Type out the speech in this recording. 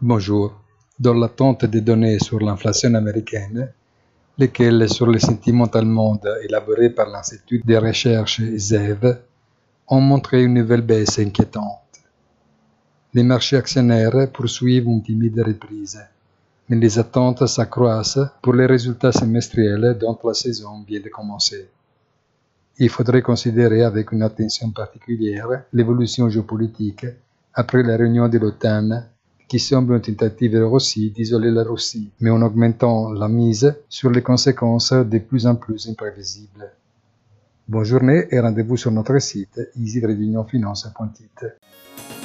Bonjour. Dans l'attente des données sur l'inflation américaine, lesquelles sur le sentiment monde élaborées par l'Institut de recherche ZEV ont montré une nouvelle baisse inquiétante. Les marchés actionnaires poursuivent une timide reprise, mais les attentes s'accroissent pour les résultats semestriels dont la saison vient de commencer. Il faudrait considérer avec une attention particulière l'évolution géopolitique après la réunion de l'OTAN qui semble une tentative aussi d'isoler la Russie, mais en augmentant la mise sur les conséquences de plus en plus imprévisibles. Bonne journée et rendez-vous sur notre site easy-finance.it.